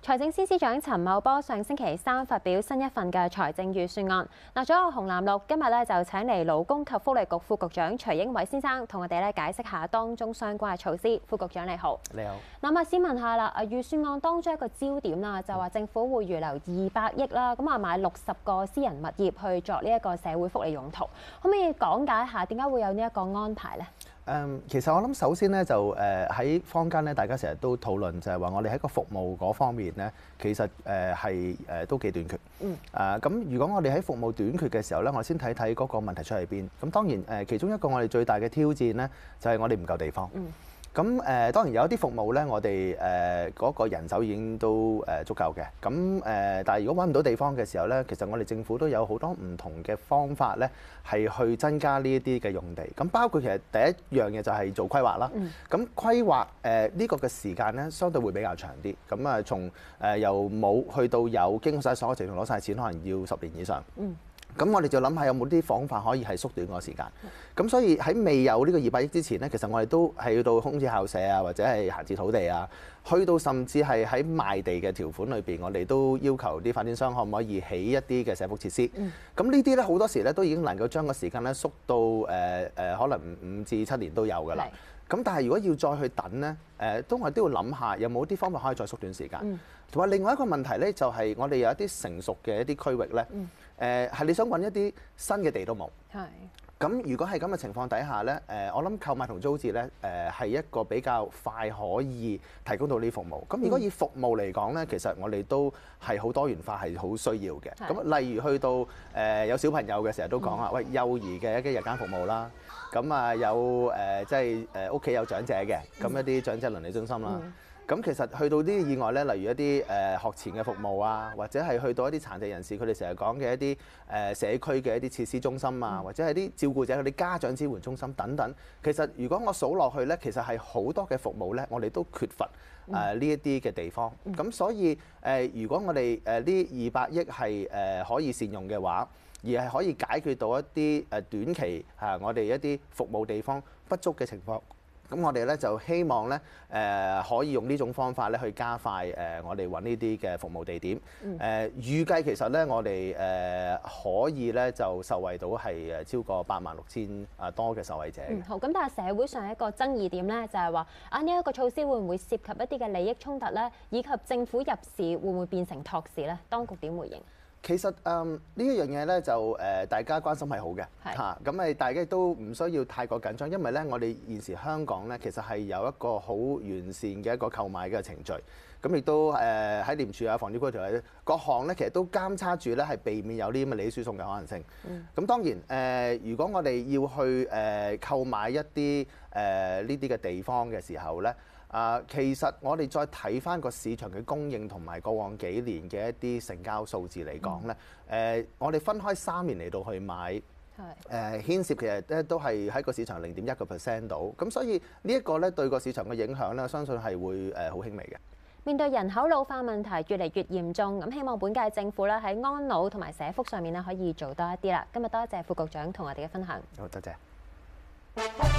財政司司長陳茂波上星期三發表新一份嘅財政預算案。嗱，左右紅藍綠今日咧就請嚟勞工及福利局副局長徐英偉先生同我哋咧解釋下當中相關嘅措施。副局長你好， 你好。 嗱，咁先問下啦，預算案當中一個焦點啦，就話政府會預留200億啦，咁買60個私人物業去作呢一個社會福利用途，可唔可以講解下點解會有呢一個安排呢？ 其實我諗首先咧就喺坊間咧，大家成日都討論就係話我哋喺個服務嗰方面咧，其實係都幾短缺。咁如果我哋喺服務短缺嘅時候咧，我先睇睇嗰個問題出喺邊。咁當然其中一個我哋最大嘅挑戰咧，就係我哋唔夠地方。咁當然有一啲服務咧，我哋嗰個人手已經都足夠嘅。咁但係如果揾唔到地方嘅時候咧，其實我哋政府都有好多唔同嘅方法咧，係去增加呢一啲嘅用地。咁包括其實第一樣嘢就係做規劃啦。咁規劃呢個嘅時間咧，相對會比較長啲。咁從由冇去到有，經過晒所有程序攞晒錢，可能要10年以上。咁我哋就諗下有冇啲方法可以係縮短個時間。咁所以喺未有呢個200億之前呢，其實我哋都係要到空置校舍啊，或者係閒置土地啊，去到甚至係喺賣地嘅條款裏邊，我哋都要求啲發展商可唔可以起一啲嘅社福設施。咁呢啲咧好多時咧都已經能夠將個時間咧縮到可能5至7年都有㗎啦。咁但係如果要再去等咧，我哋都要諗下有冇啲方法可以再縮短時間。同埋另外一個問題咧，就係我哋有一啲成熟嘅一啲區域咧，係你想揾一啲新嘅地都冇。咁如果係咁嘅情況底下咧，我諗購買同租置咧，係一個比較快可以提供到呢啲服務。咁如果以服務嚟講咧，其實我哋都係好多元化，係好需要嘅。咁例如去到有小朋友嘅成日都講啊，喂，幼兒嘅一啲日間服務啦，咁有即係屋企有長者嘅，咁一啲長者鄰里中心啦。咁其實去到啲以外咧，例如一啲學前嘅服務啊，或者係去到一啲殘疾人士，佢哋成日講嘅一啲社區嘅一啲設施中心啊，或者係啲照顧者佢哋家長支援中心等等。其實如果我數落去咧，其實係好多嘅服務咧，我哋都缺乏呢一啲嘅地方。咁所以如果我哋呢200億係可以善用嘅話，而係可以解決到一啲短期我哋一啲服務地方不足嘅情況。咁我哋咧就希望咧可以用呢種方法咧去加快我哋揾呢啲嘅服務地點。預計其實咧我哋可以咧就受惠到係超過86000多嘅受惠者。 好，咁但係社會上一個爭議點咧就係話呢一個措施會唔會涉及一啲嘅利益衝突咧，以及政府入市會唔會變成托市咧？當局點回應？ 其實呢一樣嘢咧就大家關心係好嘅嚇，咁大家都唔需要太過緊張，因為咧我哋現時香港咧其實係有一個好完善嘅一個購買嘅程序，咁亦都喺廉署啊、房屋條例各項咧，其實都監察住咧係避免有啲咁嘅利益輸送嘅可能性。咁當然如果我哋要去購買一啲呢啲嘅地方嘅時候咧。其實我哋再睇翻個市場嘅供應同埋過往幾年嘅一啲成交數字嚟講咧，我哋分開3年嚟到去買，牽涉其實咧都係喺個市場0.1% 度，咁所以呢一個咧對個市場嘅影響咧，我相信係會好輕微嘅。 面對人口老化問題越嚟越嚴重，咁希望本屆政府咧喺安老同埋社福上面咧可以做多一啲啦。今日多謝副局長同我哋嘅分享。 好，多謝。